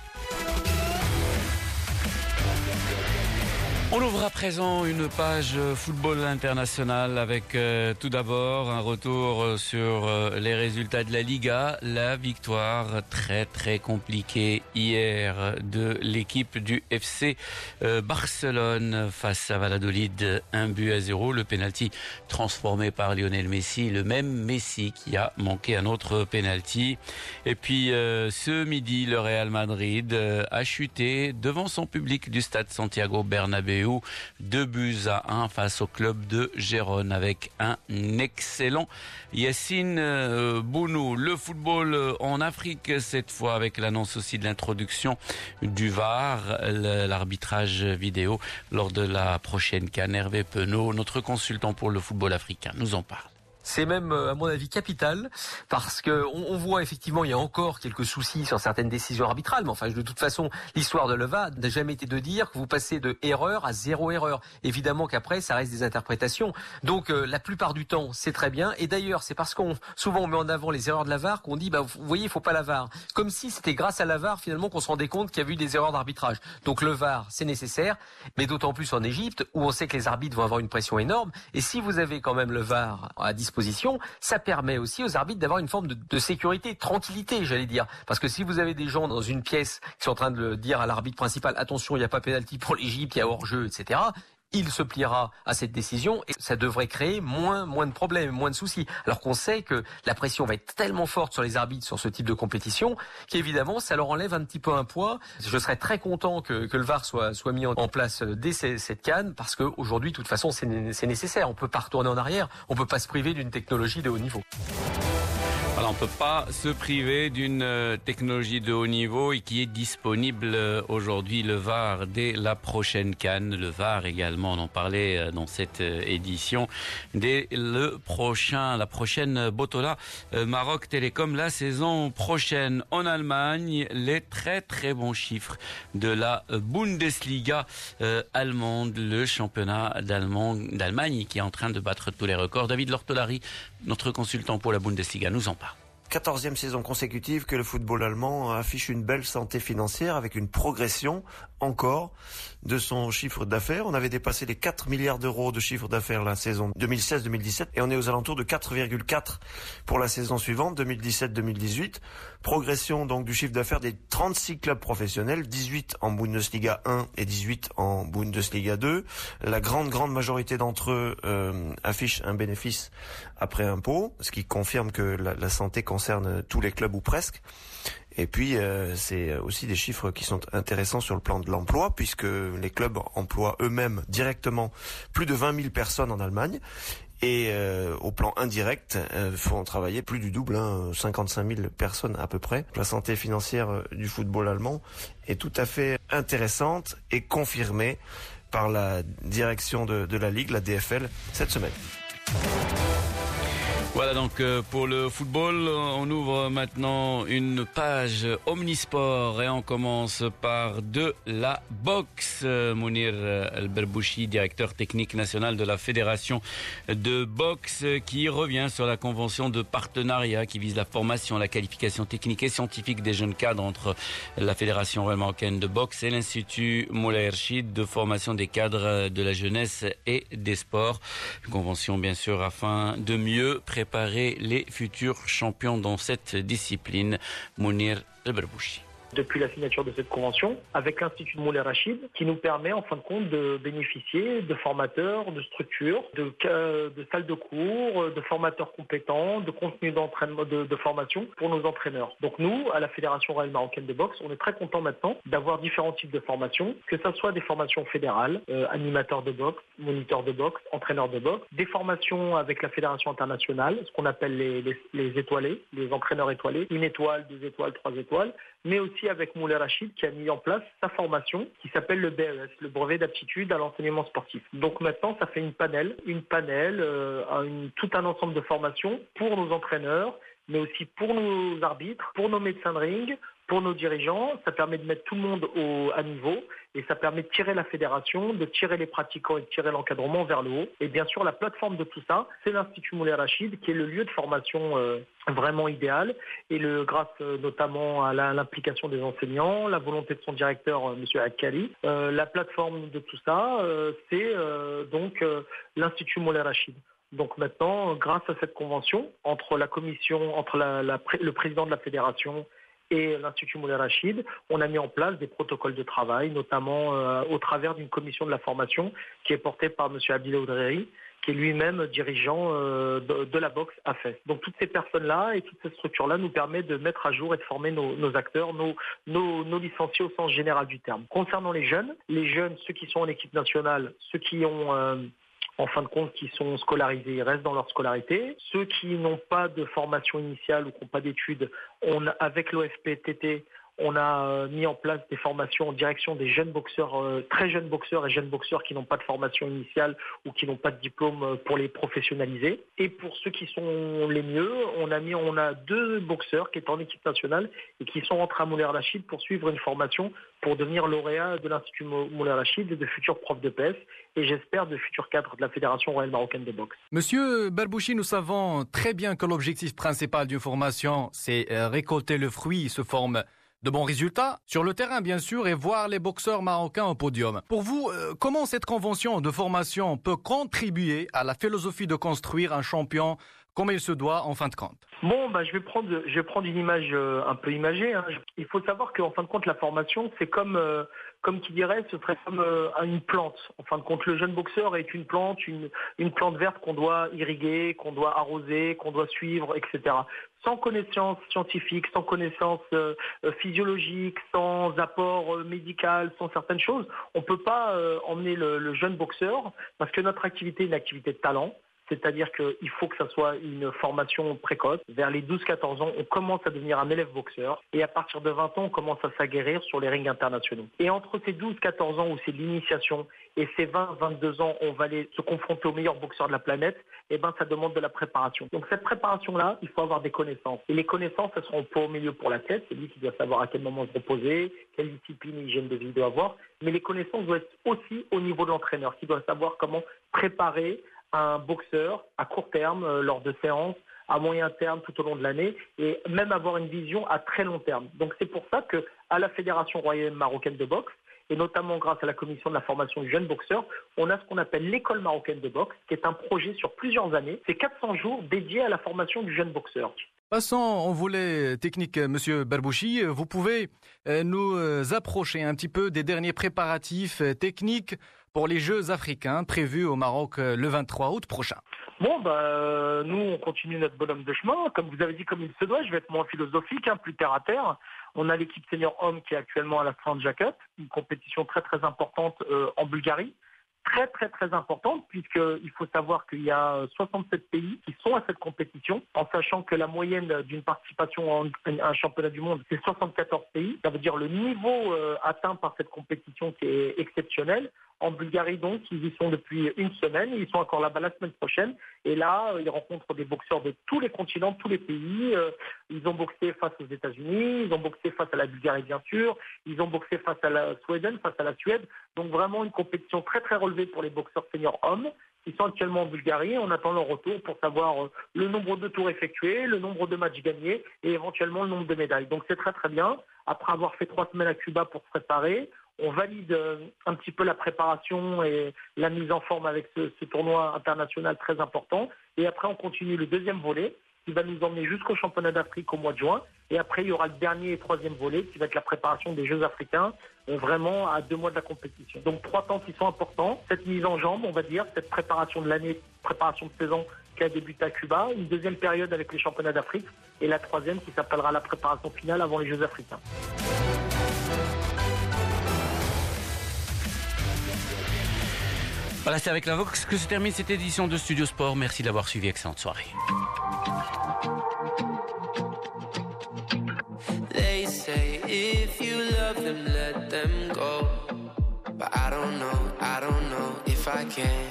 On ouvre à présent une page football international avec euh, tout d'abord un retour sur euh, les résultats de la Liga. La victoire très très compliquée hier de l'équipe du F C euh, Barcelone face à Valladolid, un but à zéro. Le penalty transformé par Lionel Messi, le même Messi qui a manqué un autre penalty. Et puis euh, ce midi, le Real Madrid euh, a chuté devant son public du stade Santiago Bernabéu. Deux buts à un face au club de Gérone avec un excellent Yassine Bounou. Le football en Afrique cette fois avec l'annonce aussi de l'introduction du V A R, l'arbitrage vidéo lors de la prochaine CAN. Hervé Penaud, notre consultant pour le football africain, nous en parle. C'est même, à mon avis, capital, parce que on, on voit effectivement, il y a encore quelques soucis sur certaines décisions arbitrales, mais enfin, de toute façon, l'histoire de l'E V A n'a jamais été de dire que vous passez de erreur à zéro erreur. Évidemment qu'après, ça reste des interprétations. Donc, euh, la plupart du temps, c'est très bien. Et d'ailleurs, c'est parce qu'on souvent on met en avant les erreurs de la V A R qu'on dit, bah, vous voyez, il faut pas la V A R. Comme si c'était grâce à la V A R finalement qu'on se rendait compte qu'il y a eu des erreurs d'arbitrage. Donc, le V A R, c'est nécessaire, mais d'autant plus en Égypte où on sait que les arbitres vont avoir une pression énorme. Et si vous avez quand même le V A R à disposition, ça permet aussi aux arbitres d'avoir une forme de, de sécurité, de tranquillité, j'allais dire. Parce que si vous avez des gens dans une pièce qui sont en train de dire à l'arbitre principal, attention, il n'y a pas pénalty pour l'Égypte, il y a hors-jeu, et cetera, il se pliera à cette décision et ça devrait créer moins, moins de problèmes, moins de soucis. Alors qu'on sait que la pression va être tellement forte sur les arbitres sur ce type de compétition qu'évidemment, ça leur enlève un petit peu un poids. Je serais très content que, que le V A R soit, soit mis en place dès cette CAN parce qu'aujourd'hui, de toute façon, c'est nécessaire. On ne peut pas retourner en arrière. On ne peut pas se priver d'une technologie de haut niveau. Voilà, on ne peut pas se priver d'une technologie de haut niveau et qui est disponible aujourd'hui, le V A R, dès la prochaine CAN. Le V A R également, on en parlait dans cette édition, dès le prochain, la prochaine Botola Maroc Télécom, la saison prochaine. En Allemagne, les très très bons chiffres de la Bundesliga euh, allemande, le championnat d'Allemagne qui est en train de battre tous les records. David Lortolari, notre consultant pour la Bundesliga, nous en parle. quatorzième saison consécutive que le football allemand affiche une belle santé financière avec une progression encore de son chiffre d'affaires. On avait dépassé les quatre milliards d'euros de chiffre d'affaires la saison deux mille seize deux mille dix-sept et on est aux alentours de quatre virgule quatre pour la saison suivante deux mille dix-sept deux mille dix-huit. Progression donc du chiffre d'affaires des trente-six clubs professionnels, dix-huit en Bundesliga un et dix-huit en Bundesliga deux. La grande grande majorité d'entre eux euh, affichent un bénéfice après impôt, ce qui confirme que la, la santé concerne tous les clubs ou presque. Et puis, euh, c'est aussi des chiffres qui sont intéressants sur le plan de l'emploi, puisque les clubs emploient eux-mêmes directement plus de vingt mille personnes en Allemagne. Et euh, au plan indirect, euh, font travailler plus du double, hein, cinquante-cinq mille personnes à peu près. La santé financière du football allemand est tout à fait intéressante et confirmée par la direction de, de la Ligue, la D F L, cette semaine. Voilà donc pour le football, on ouvre maintenant une page omnisport et on commence par de la boxe. Mounir El-Berbouchi, directeur technique national de la fédération de boxe, qui revient sur la convention de partenariat qui vise la formation, la qualification technique et scientifique des jeunes cadres entre la fédération royale marocaine de boxe et l'institut Moulay Erchid de formation des cadres de la jeunesse et des sports. Une convention bien sûr afin de mieux préparer les futurs champions dans cette discipline. Mounir El-Berbouchi. depuis la signature de cette convention avec l'Institut Moulay Rachid qui nous permet en fin de compte de bénéficier de formateurs, de structures, de, de salles de cours, de formateurs compétents, de contenus d'entraînement, de, de formation pour nos entraîneurs. Donc nous, à la Fédération royale marocaine de boxe, on est très content maintenant d'avoir différents types de formations, que ce soit des formations fédérales, euh, animateurs de boxe, moniteurs de boxe, entraîneurs de boxe, des formations avec la Fédération internationale, ce qu'on appelle les, les, les étoilés, les entraîneurs étoilés, une étoile, deux étoiles, trois étoiles, mais aussi avec Moulay Rachid qui a mis en place sa formation qui s'appelle le B E S, le brevet d'aptitude à l'enseignement sportif. Donc maintenant, ça fait une panel, une panel, euh, une, tout un ensemble de formations pour nos entraîneurs, mais aussi pour nos arbitres, pour nos médecins de ring, pour nos dirigeants. Ça permet de mettre tout le monde au, à niveau et ça permet de tirer la fédération, de tirer les pratiquants et de tirer l'encadrement vers le haut. Et bien sûr, la plateforme de tout ça, c'est l'Institut Moulay Rachid qui est le lieu de formation euh, vraiment idéal et le, grâce euh, notamment à la, l'implication des enseignants, la volonté de son directeur, euh, M. Akkari. Euh, la plateforme de tout ça, euh, c'est euh, donc euh, l'Institut Moulay Rachid. Donc maintenant, grâce à cette convention entre la commission, entre la, la, le président de la fédération et l'Institut Moulay Rachid, on a mis en place des protocoles de travail, notamment euh, au travers d'une commission de la formation qui est portée par M. Abdillah Oudreri, qui est lui-même dirigeant euh, de, de la boxe A F E S. Donc toutes ces personnes-là et toutes ces structures-là nous permettent de mettre à jour et de former nos, nos acteurs, nos, nos, nos licenciés au sens général du terme. Concernant les jeunes, les jeunes, ceux qui sont en équipe nationale, ceux qui ont... Euh, en fin de compte, qui sont scolarisés, ils restent dans leur scolarité. Ceux qui n'ont pas de formation initiale ou qui n'ont pas d'études, on, avec l'O F P T T, on a mis en place des formations en direction des jeunes boxeurs, euh, très jeunes boxeurs et jeunes boxeurs qui n'ont pas de formation initiale ou qui n'ont pas de diplôme pour les professionnaliser. Et pour ceux qui sont les mieux, on a mis, on a deux boxeurs qui étaient en équipe nationale et qui sont rentrés à Moulay Rachid pour suivre une formation pour devenir lauréat de l'Institut Moulay Rachid et de futurs profs de P S et j'espère de futurs cadres de la Fédération royale marocaine de boxe. Monsieur Barbouchi, nous savons très bien que l'objectif principal d'une formation, c'est récolter le fruit sous forme de bons résultats sur le terrain, bien sûr, et voir les boxeurs marocains au podium. Pour vous, euh, comment cette convention de formation peut contribuer à la philosophie de construire un champion comme il se doit en fin de compte? Bon, bah, je vais prendre, je vais prendre une image euh, un peu imagée. Hein. Il faut savoir qu'en fin de compte, la formation, c'est comme, euh, comme qui dirait, ce serait comme euh, une plante. En fin de compte, le jeune boxeur est une plante, une, une plante verte qu'on doit irriguer, qu'on doit arroser, qu'on doit suivre, et cetera. Sans connaissance scientifique, sans connaissance euh, physiologique, sans apport euh, médical, sans certaines choses, on ne peut pas euh, emmener le, le jeune boxeur parce que notre activité est une activité de talent. C'est-à-dire qu'il faut que ça soit une formation précoce. Vers les douze quatorze ans, on commence à devenir un élève boxeur. Et à partir de vingt ans, on commence à s'aguerrir sur les rings internationaux. Et entre ces douze quatorze ans où c'est l'initiation et ces vingt vingt-deux ans, on va aller se confronter aux meilleurs boxeurs de la planète, et ben ça demande de la préparation. Donc cette préparation-là, il faut avoir des connaissances. Et les connaissances, elles seront pas au milieu pour la tête. C'est lui qui doit savoir à quel moment se reposer, quelle discipline et hygiène de vie il doit avoir. Mais les connaissances doivent être aussi au niveau de l'entraîneur, qui doit savoir comment préparer un boxeur à court terme, euh, lors de séances, à moyen terme, tout au long de l'année, et même avoir une vision à très long terme. Donc c'est pour ça que à la Fédération royale marocaine de boxe, et notamment grâce à la commission de la formation du jeune boxeur, on a ce qu'on appelle l'école marocaine de boxe, qui est un projet sur plusieurs années. C'est quatre cents jours dédiés à la formation du jeune boxeur. Passons en volet technique, Monsieur Barbouchi. Vous pouvez nous approcher un petit peu des derniers préparatifs techniques pour les Jeux africains prévus au Maroc le vingt-trois août prochain. Bon, bah, nous, on continue notre bonhomme de chemin. Comme vous avez dit, comme il se doit, je vais être moins philosophique, hein, plus terre à terre. On a l'équipe senior homme qui est actuellement à la Strandja Cup, une compétition très très importante euh, en Bulgarie. Très très très importante, puisqu'il faut savoir qu'il y a soixante-sept pays qui sont à cette compétition, en sachant que la moyenne d'une participation à un championnat du monde, c'est soixante-quatorze pays. Ça veut dire le niveau euh, atteint par cette compétition qui est exceptionnel. En Bulgarie, donc, ils y sont depuis une semaine. Ils sont encore là-bas la semaine prochaine. Et là, ils rencontrent des boxeurs de tous les continents, tous les pays. Ils ont boxé face aux États-Unis. Ils ont boxé face à la Bulgarie, bien sûr. Ils ont boxé face à la Suède, face à la Suède. Donc, vraiment une compétition très, très relevée pour les boxeurs seniors hommes. Ils sont actuellement en Bulgarie. On attend leur retour pour savoir le nombre de tours effectués, le nombre de matchs gagnés et éventuellement le nombre de médailles. Donc, c'est très, très bien. Après avoir fait trois semaines à Cuba pour se préparer, on valide un petit peu la préparation et la mise en forme avec ce, ce tournoi international très important. Et après, on continue le deuxième volet, qui va nous emmener jusqu'au championnat d'Afrique au mois de juin. Et après, il y aura le dernier et troisième volet qui va être la préparation des Jeux africains, euh, vraiment à deux mois de la compétition. Donc trois temps qui sont importants. Cette mise en jambe, on va dire, cette préparation de l'année, préparation de saison qui a débuté à Cuba, une deuxième période avec les championnats d'Afrique et la troisième qui s'appellera la préparation finale avant les Jeux africains. Voilà, c'est avec la Vox que se termine cette édition de Studio Sport. Merci d'avoir suivi. Excellente soirée. They say if you love them, let them go. But I don't know, I don't know if I can.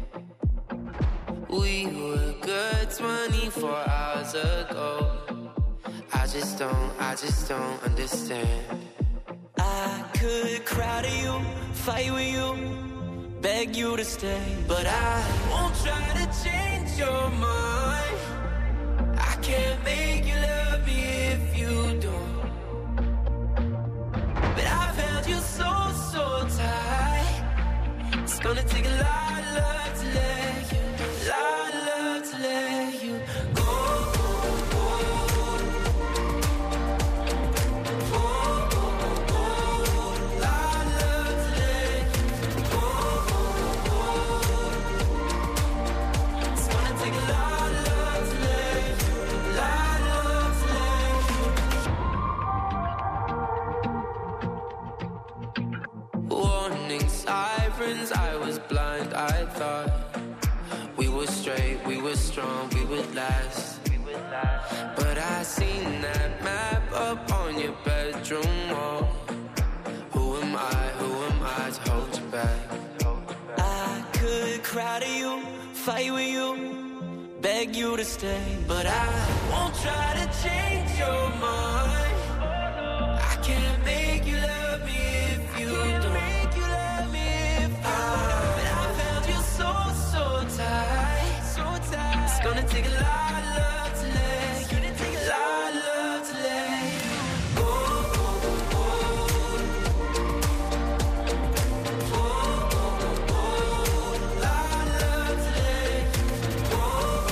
We were good twenty-four hours ago. I just don't, I just don't understand. I could cry to you, fight with you, beg you to stay, but I won't try to change your mind. I can't make you love me if you don't. But I've held you so, so tight. It's gonna take a lot of love to let you, lot of love to let you go. I was blind, I thought we were straight, we were strong, we would last. But I seen that map up on your bedroom wall. Who am I, who am I to hold you back? I could cry to you, fight with you, beg you to stay, but I won't try to change your mind. I can't make you love me if you don't. It's gonna take a lot of love to let you, a lot of love to let you go. Oh, oh, oh, oh, lot of love to let you go.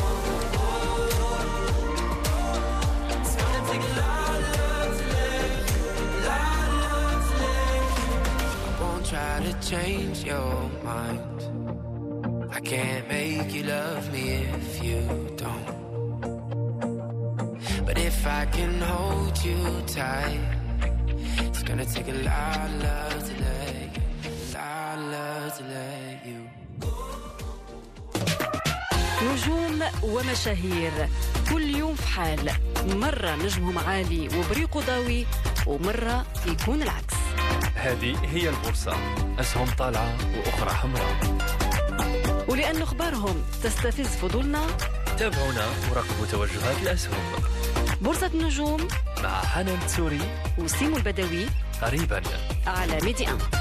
It's gonna take a lot of love to let you, a lot of love to let you. I won't try to change your mind. I can't make you love me if you don't. But if I can hold you tight, it's gonna take a lot of love to let you, a lot of love to let you go. نجوم ومشاهير كل يوم في حال، مرة نجمهم عالي وبريقه ضاوي ومرة يكون العكس. هذه هي البورصة، أسهم طالعة وأخرى حمراء. ولأن أخبارهم تستفز فضولنا، تابعونا وراقبوا توجهات الأسهم. بورصة النجوم مع حنان تسوري وسيمو البدوي قريبا على ميدي أن.